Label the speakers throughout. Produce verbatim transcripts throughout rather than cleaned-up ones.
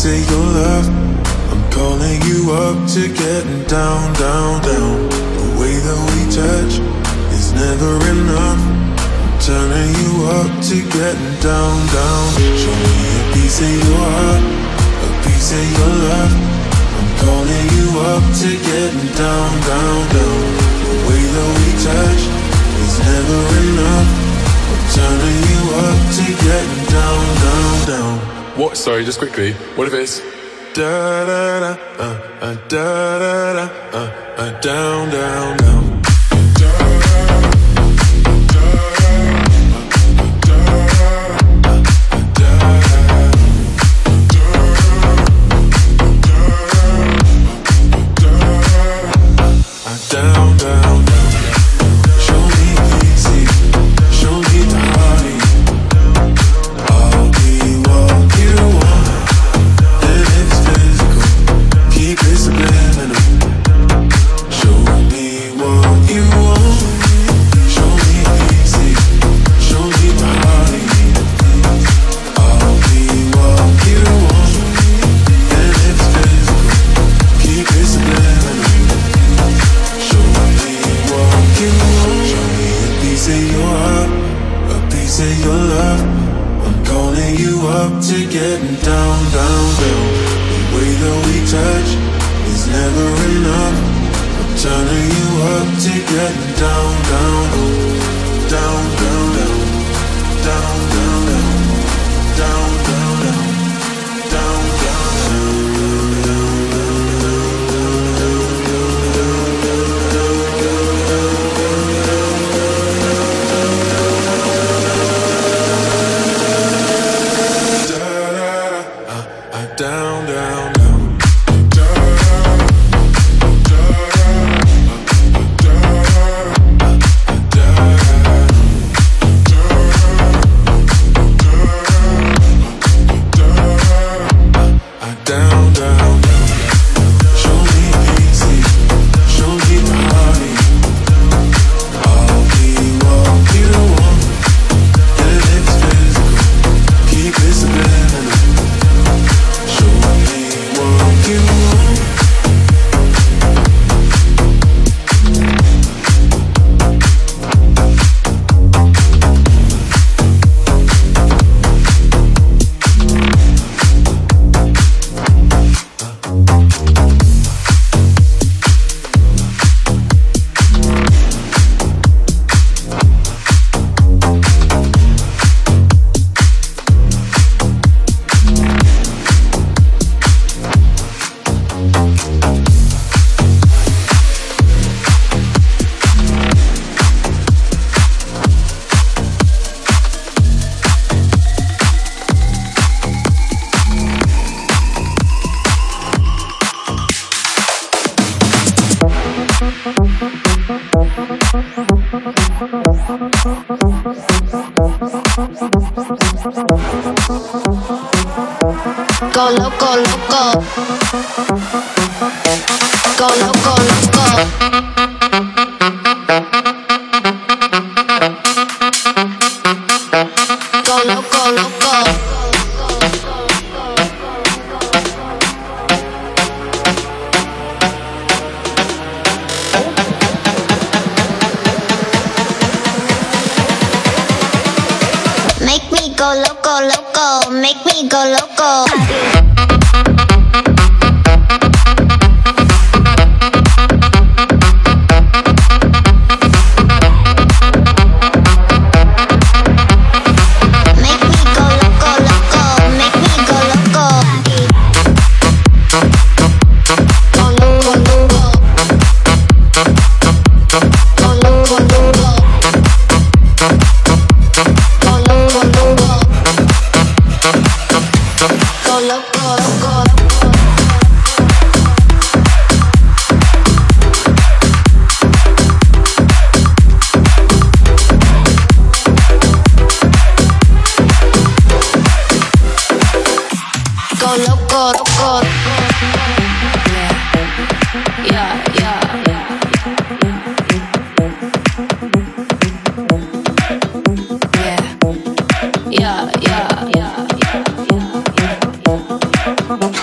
Speaker 1: piece of your love. I'm calling you up to getting down, down, down. The way that we touch is never enough. I'm turning you up to getting down, down. Show me a piece of your heart, a piece of your love. I'm calling you up to getting down, down, down. The way that we touch is never enough. I'm turning you up to getting down, down, down.
Speaker 2: What? Sorry, just quickly. What if it's
Speaker 1: da da da uh uh da da da uh uh down, down, down. Down, down, down. Show me easy, show me the party. I'll be what you want, and it's physical. Keep it subliminal. Show me what you want. Show me easy, show me the party. I'll be what you want, and it's physical. Keep it subliminal. Of your heart, a piece of your love. I'm calling you up to getting down, down, down. The way that we touch is never enough. I'm turning you up to getting down, down, down, down, down, down, down, down, down, down, down, down, down, down, down. Down, down, down. Show me easy, show me the party. I'll be what you want, and it's physical. Keep it subliminal. Show me what you want.
Speaker 3: Go loco, loco. Go loco, loco. Go loco, loco. Make me go loco, loco. Make me go loco. Yeah, yeah, yeah, yeah, yeah, yeah.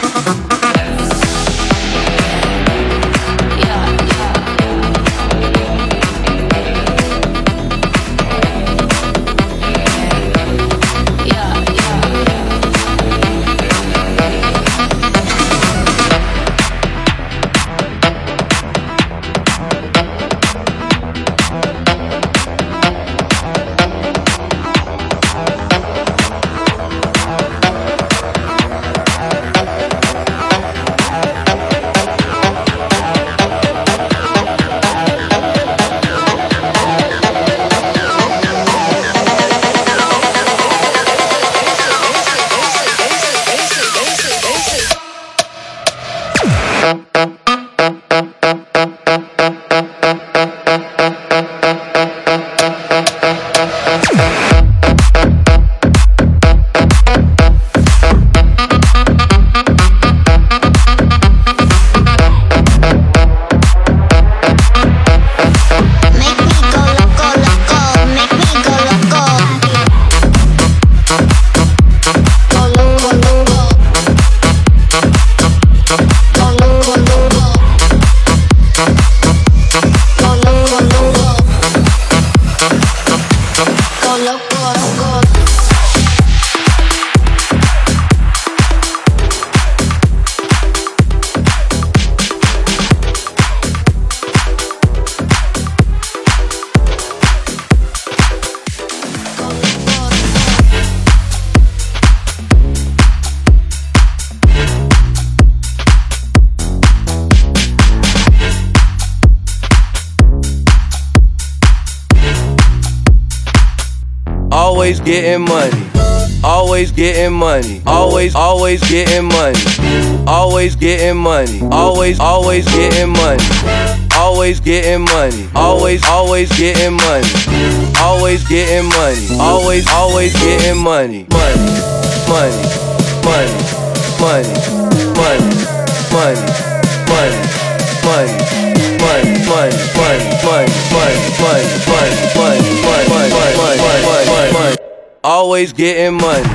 Speaker 4: getting money. Always getting money. Always, always getting money. Always getting money. Always, always getting money. Always getting money. Always, always getting money. Always getting money. Always, always getting money. Money, money, money, money, money, money, money, money, money, money, money, money, money, money, money, money, money, money, money. Always getting money.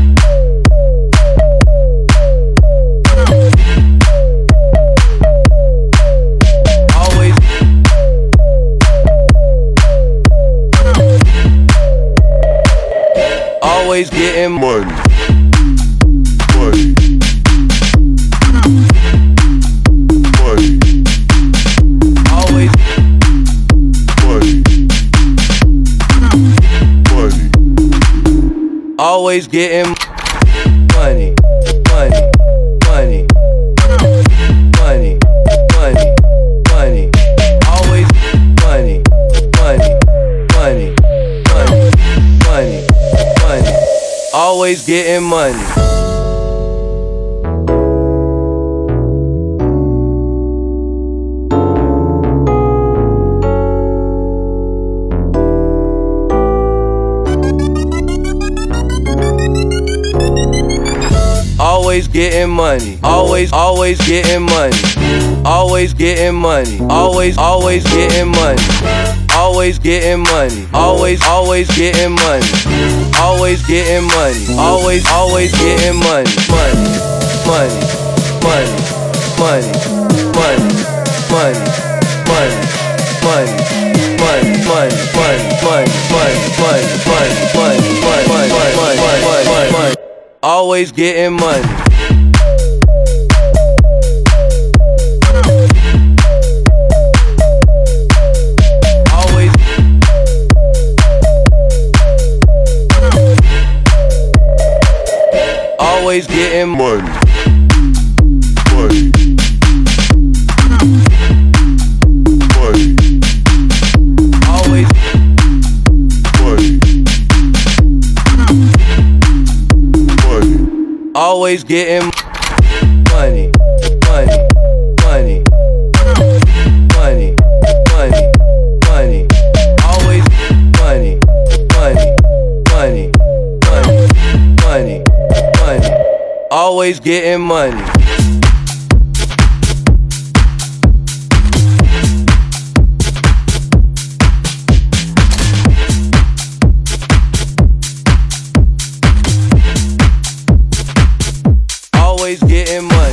Speaker 4: Always. Always getting money. Money. Money. Always. Money. Money. Always getting money, money, money, money, money, money. Always money, money, money, money, money, money. Always getting money. Always getting money. Always, always getting money. Always getting money. Always, always getting money. Always getting money. Always, always getting money. Always getting money. Always, always getting money. Money, money, money, money, money, money, money, money, money, money, money, money, money, money, money, money, money, money. Always getting money. Always. Always getting money. Money. Money. Always. Money. Always getting money, money, money, money, money, money. Always money, money, money, money, money, money. Always getting money. Always getting money.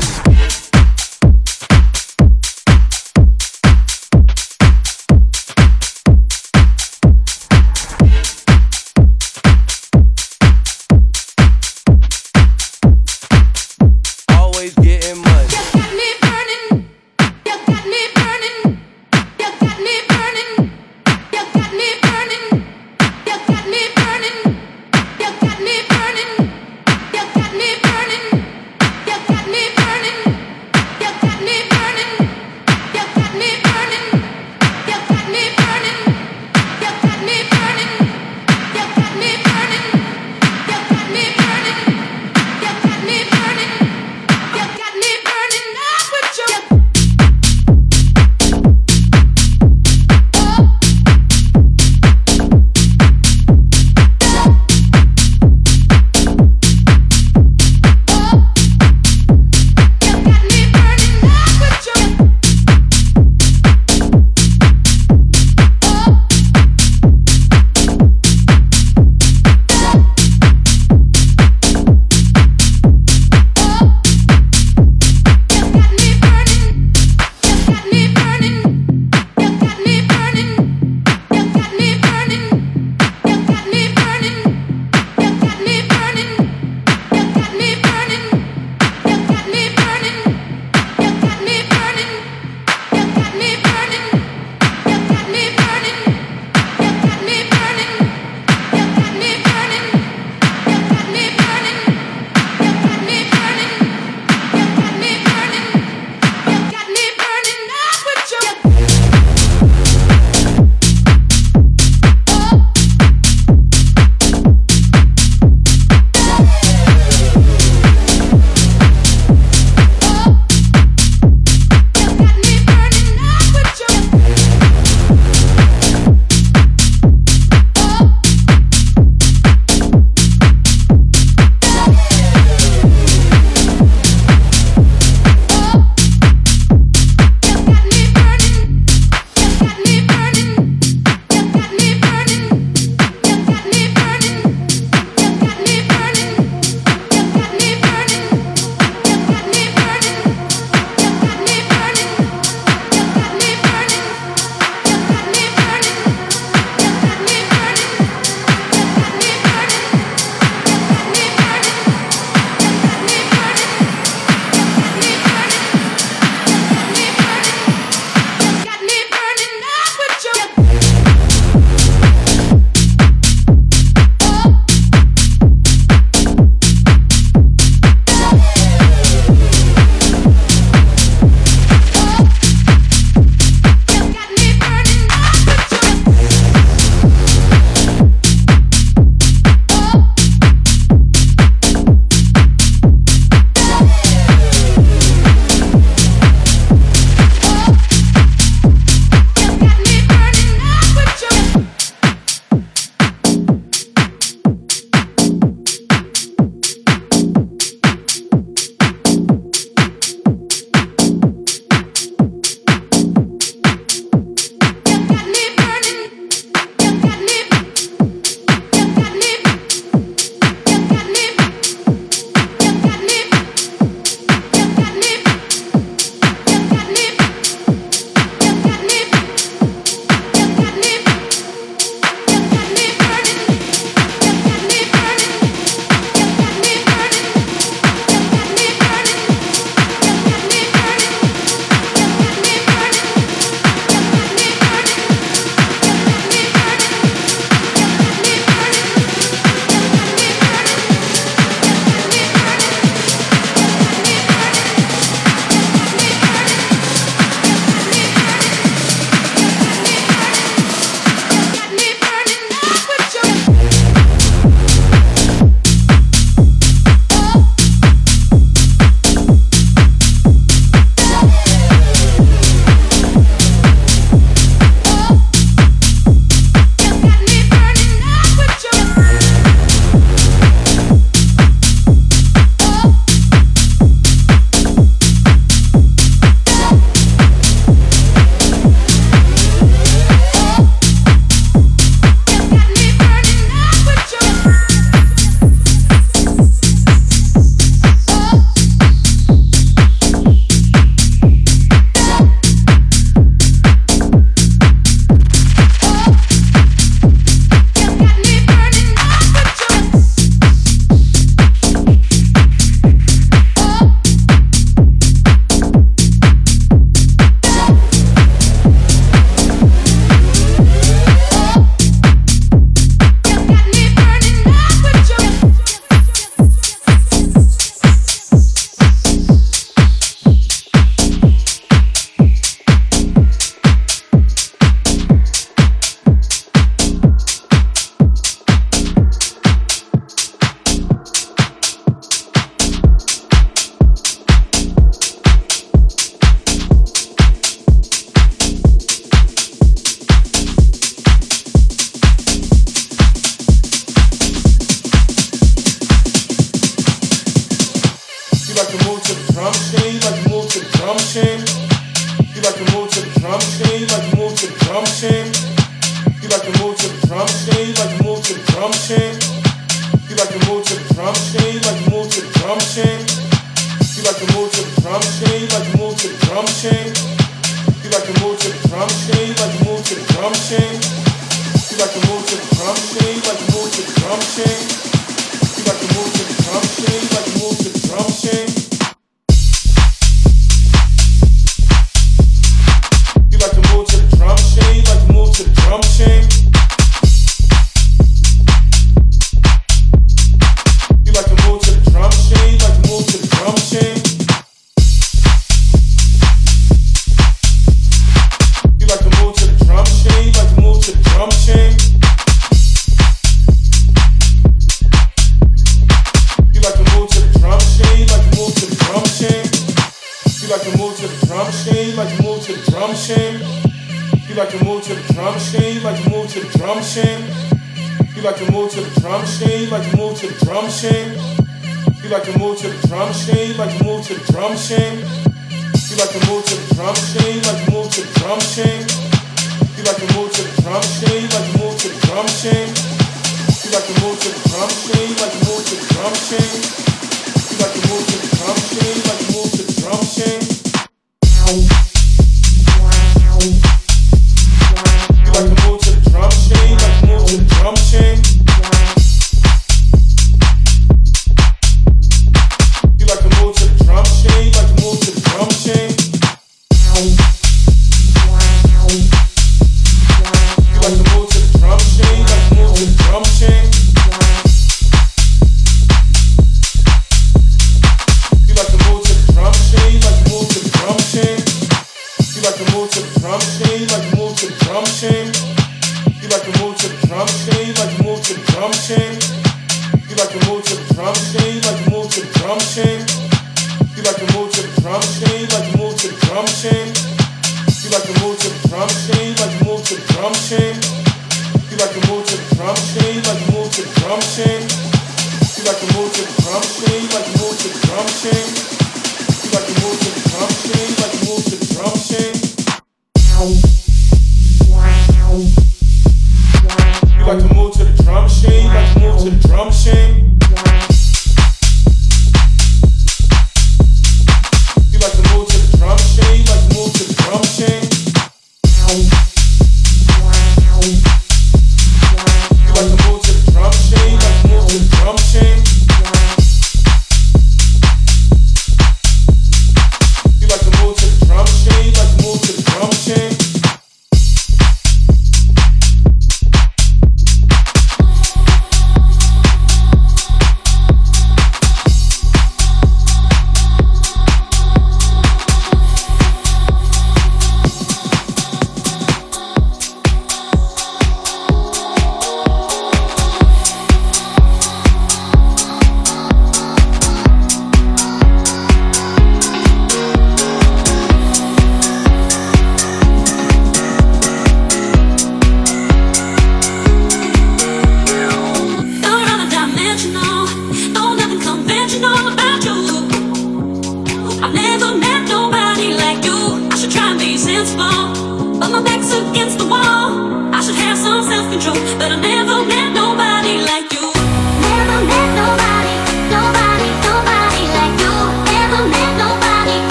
Speaker 4: Always
Speaker 1: to the drum machine, you like to move to the drum machine. You like to move to the drum machine, you like to move to the drum machine. You like to move to the drum machine, you like to move to the drum machine. You like to move to the drum machine, you like to move to the drum machine. You like to move to the drum machine, you like to move to the drum machine. You like to move to the drum machine, you like to move to the drum machine. You like to move to the drum machine, you like to move to the drum machine. You like to move to the drum machine, you like to move to the drum machine. You like to move to the drum machine, you like to move to the drum machine. You like to move to the drum machine, you like to move to the drum machine. You like to move to the drum machine, you like to move to the drum machine. You like to move to the drum machine, you like to move to the drum machine. You like to move to the drum machine, you like to move to the drum machine. You like to move to the drum machine, you like to move to the drum machine. You like to move to the drum machine, you like to move to the drum machine. You like to move to the drum machine, you like to move to the drum machine. You like to move to the drum machine, you like to move to the drum machine. You like to move to the drum machine, you like to move to the drum machine. You like to move to the drum machine, you like to move to the drum machine. You like to move to the drum machine, you like to move to the drum machine. You like to move to the drum machine, you like to move to the drum machine. You like to move to the drum machine, you like to move to the drum machine. You like to move to the drum machine, you like to move to the drum machine. You like to move to the drum machine, you like to move to the drum machine. You like to move to the drum machine, you like to move to the drum machine. You like to move to the drum machine, you like to move to the drum machine. You like to move to the drum machine, you like to move to the drum machine. You like to move to the drum machine, you like to move to the drum machine. You like to move to the drum machine, you like to move to the drum machine. You like to move to the drum machine, you like to move to the drum machine. You like to move to the drum machine, you like to move to the drum machine. You like to move to the drum machine, you like to move to the drum machine. You like to move to the drum machine, you like to move to the drum machine. You like to move to the drum machine, you like to move to the drum machine. You like to move to the drum machine, you like to move to the drum machine. You like to move to the drum machine, you like to move to the drum machine.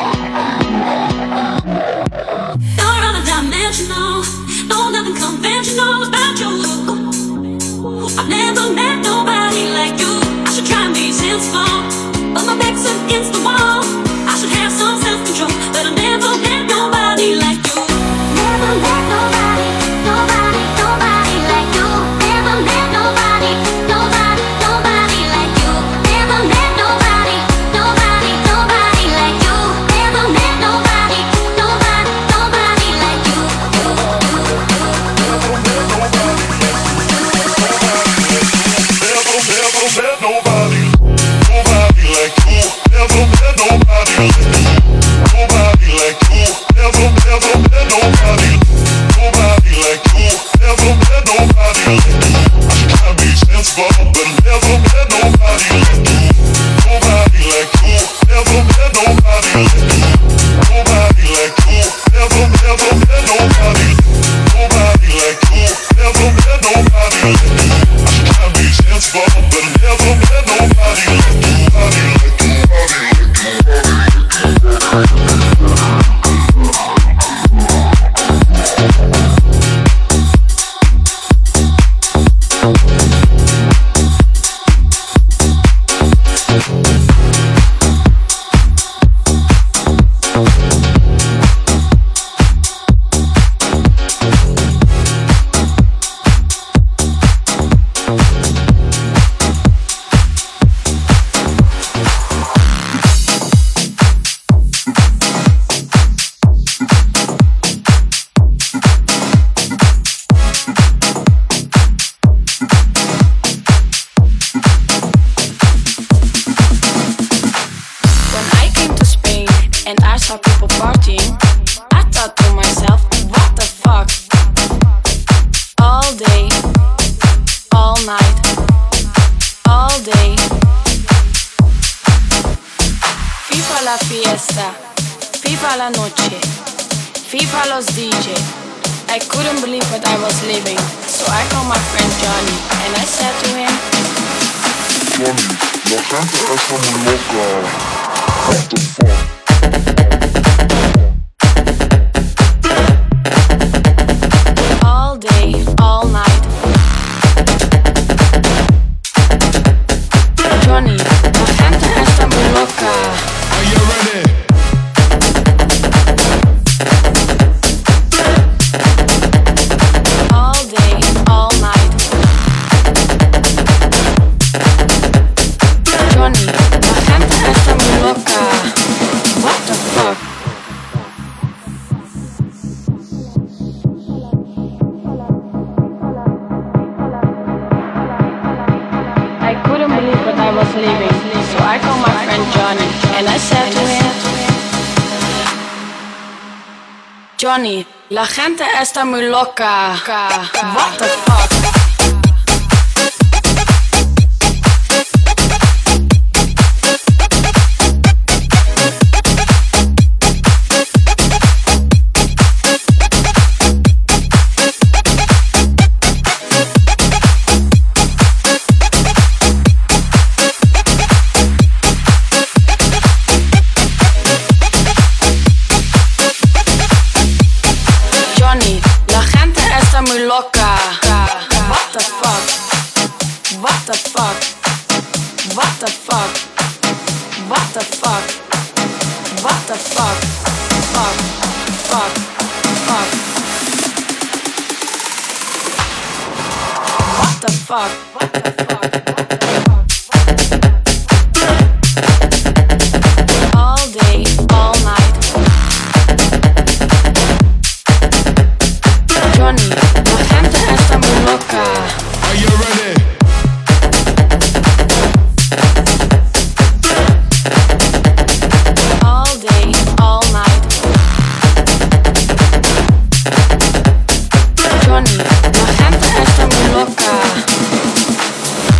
Speaker 1: Conventional, no, nothing conventional.
Speaker 5: all about you. I've never met nobody like you. I should try and be sensible, but my back's against the wall. I should have some self-control, but I never met nobody like you.
Speaker 3: Never met nobody, nobody, nobody like you. Never met nobody, nobody, nobody like you. Never met nobody, nobody, nobody like you. Never met nobody, nobody, nobody like you.
Speaker 1: Never met nobody, nobody like you. Never met nobody, nobody like you. Never, never met nobody, nobody like you. Never met nobody. I try to be sensible, but never met nobody like you. Nobody like you. Never met nobody. Nobody like you. Never, never met nobody. Nobody like you. Never met nobody. I try to be sensible, but never met nobody like you. Nobody like you. Nobody like you.
Speaker 6: FIFA la noche, FIFA los D J. I couldn't believe what I was living, so I called my friend Johnny and I said to him,
Speaker 1: Johnny, la gente está muy loca. What the fuck?
Speaker 6: all day, all night. Johnny, la gente está muy loca.
Speaker 2: Are you ready?
Speaker 6: All day, all night. Johnny, la gente está muy loca. What the fuck? I couldn't believe what I was leaving, so I called my friend Johnny and I said to him, Johnny, la gente está muy loca. What the fuck? Johnny, la gente está muy loca. What the fuck? What the fuck? What the fuck? What the fuck? What the fuck? Fuck, fuck, fuck. What the fuck? What the fuck? All day, all night. Johnny, la gente está muy loca.
Speaker 2: Are you ready?
Speaker 6: All day, all night. Johnny, la gente está muy loca.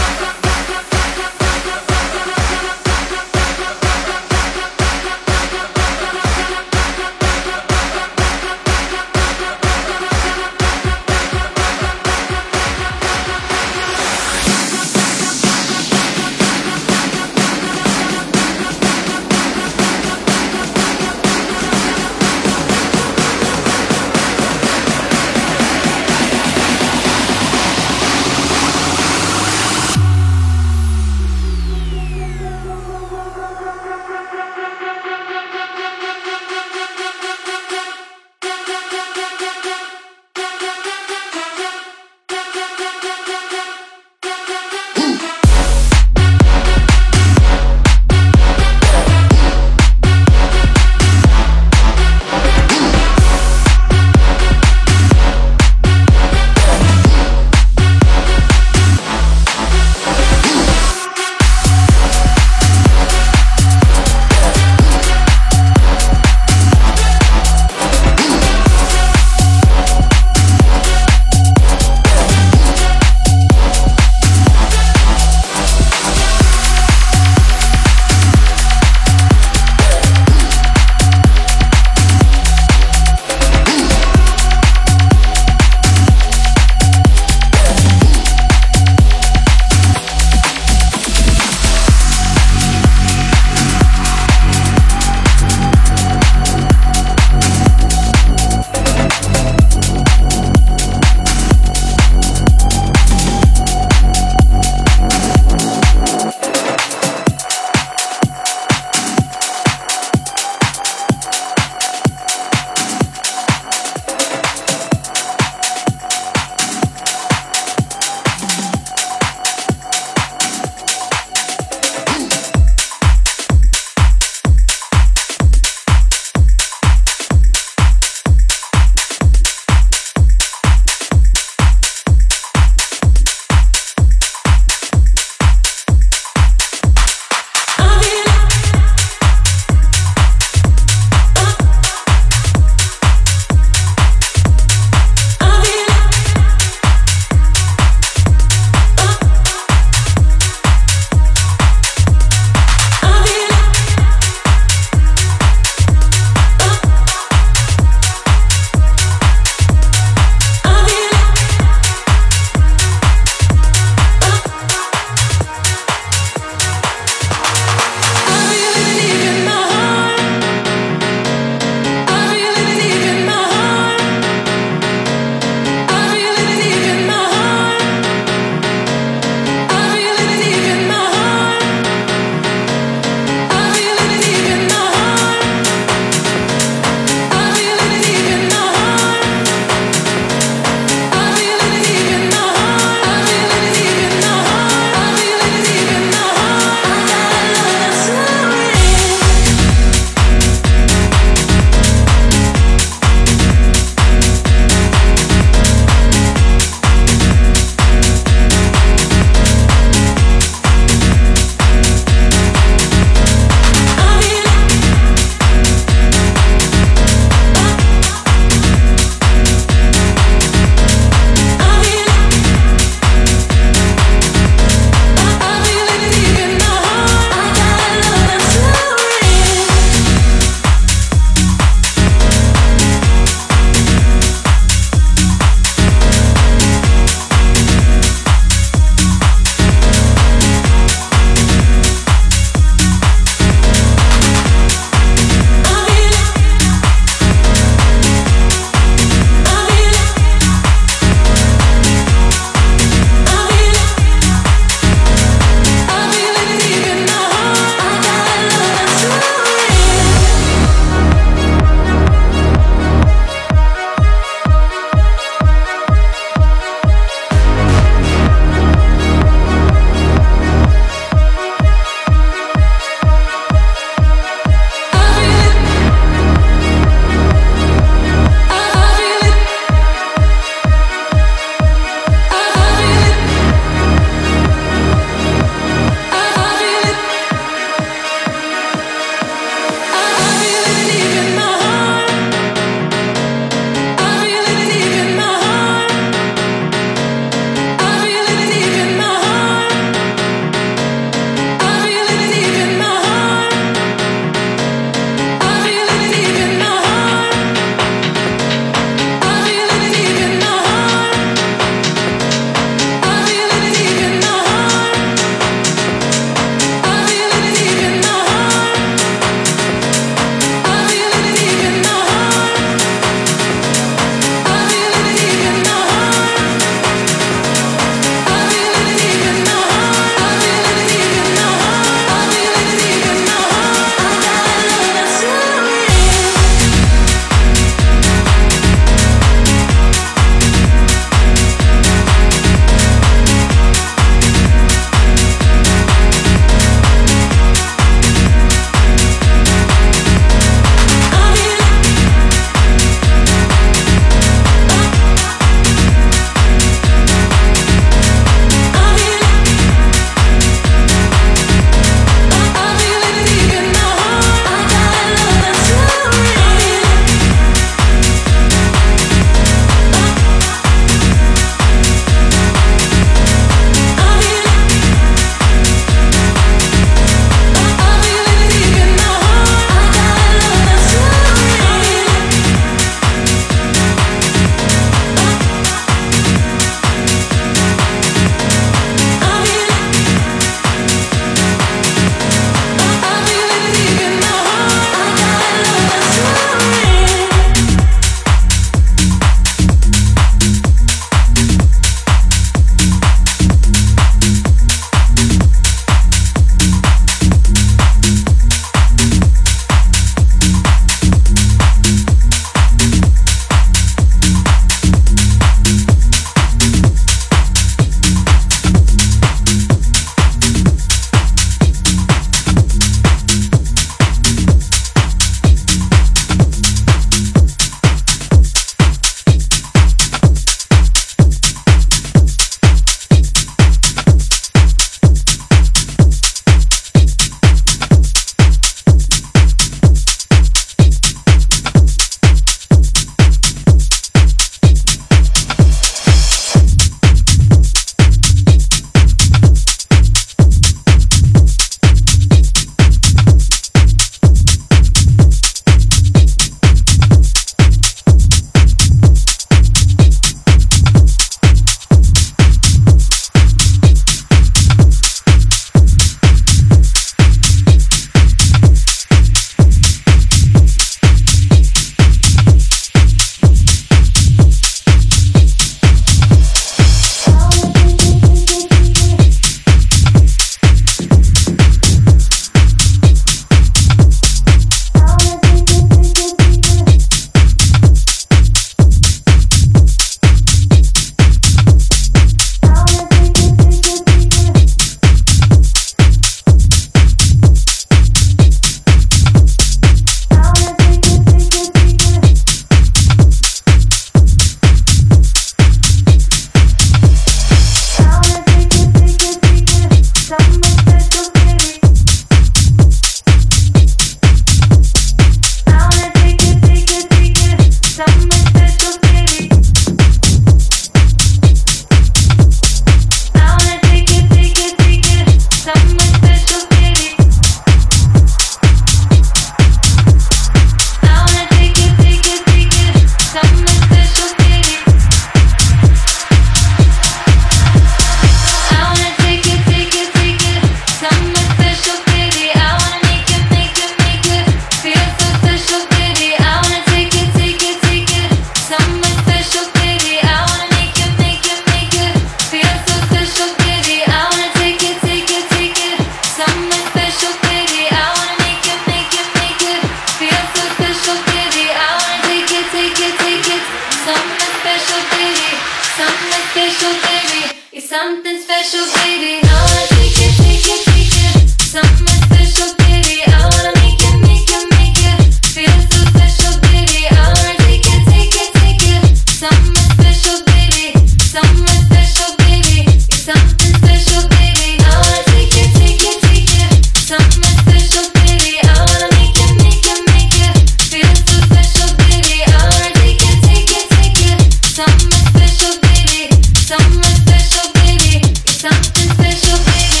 Speaker 3: take it, take it. Something special, baby. Something special, baby. It's something special, baby. I wanna take it, take it, take it. Something special, baby. I wanna make it, make it, make it. Feel so special, baby. I wanna take it, take it, take it. Something special, baby. Something special, baby. It's something special, baby. I wanna take it, take it, take it. Something special, baby. I wanna make it, make it, make it. Feel so special, baby. I wanna take it, take it, take it. Something special, baby. Something special, baby. It's something special, baby.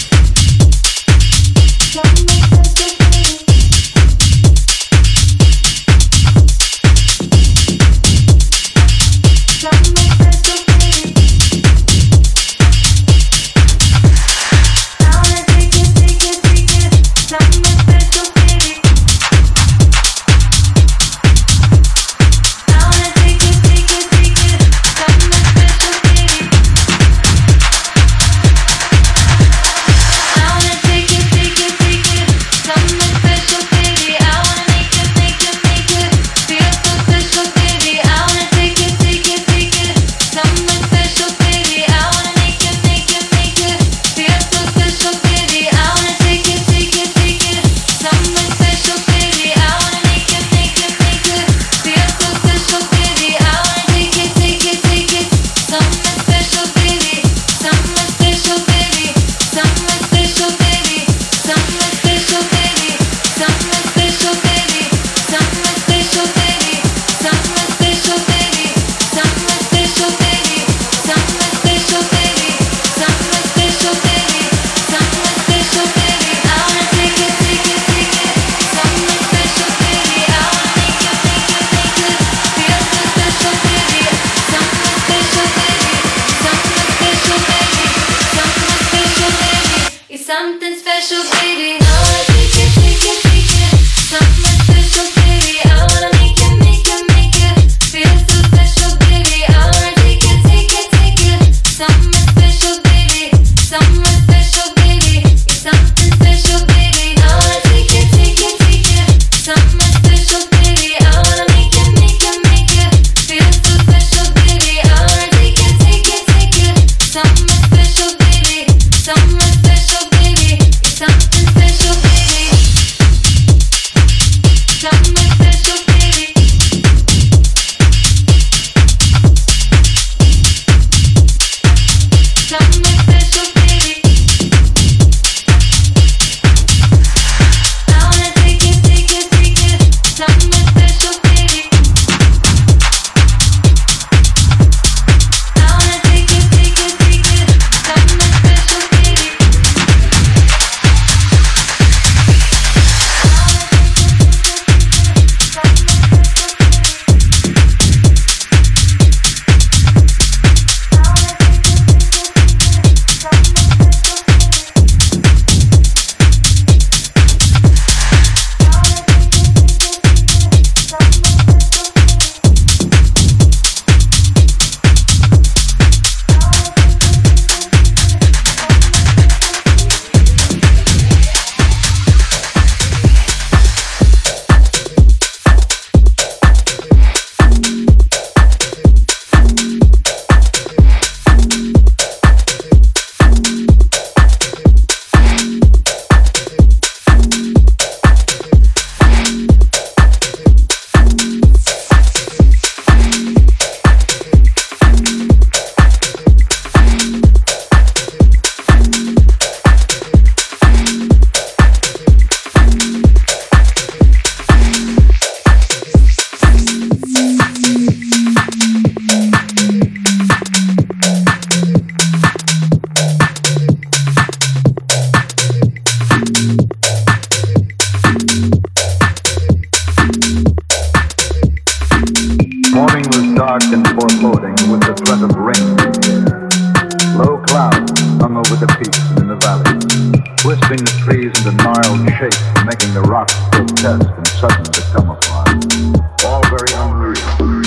Speaker 3: Something special, baby. Something special, baby. I wanna take it, take it, take it. Something special, baby. I wanna take it, take it, take it. Something special, baby. I wanna take it, take it, take it. Something special, baby. I wanna make it, make it, make it. Feel so special, baby. I wanna take it, take it, take it. Something special, baby. I wanna make it, make it, make it. Feel so special, baby. I wanna take it, take it, take it. Something special, baby. I wanna make it, make it, make it. Feel so special, baby. I wanna take it, take it, take it. Something special, baby. Something special, baby. Something special, baby. Something special, baby. Something special, baby. Something special, baby. Something special, baby. Something special, baby. Something special, baby. Something special, baby. Something special, baby. I wanna take it, take it, take it. Something special, baby. I wanna make it, make it, make it. Feel so special, baby. Something special, baby. Something special, baby. Something special, baby. It's something special, baby. I wanna take it, take it, take it. Something special, baby. I wanna make it, make it, make it. Feel so special, baby. I wanna take it, take it, take it. Something special, baby. Something special, baby. It's something special, baby. I wanna take it, take it, take it. Something special, baby. I wanna make it, make it, make it. Feel so special, baby. I wanna take it, take it, take it. Something special, baby. Something special, baby. It's something special, baby. Something special, baby. Something special, baby. I wanna take it, take it, take it. Something special, baby. I wanna take it, take it, take it. Something special, baby.
Speaker 7: Morning was dark and foreboding with the threat of rain. Low clouds hung over the peaks and in the valleys, twisting the trees into gnarled shapes and making the rocks grotesque and sudden to come upon. All very unreal.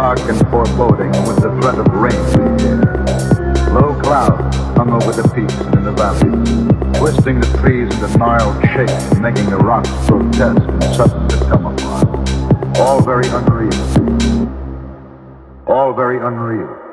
Speaker 7: dark and foreboding with the threat of rain in the air. Low clouds hung over the peaks and in the valleys, twisting the trees into gnarled shapes and making the rocks grotesque and sudden to come upon. All very unreal. All very unreal.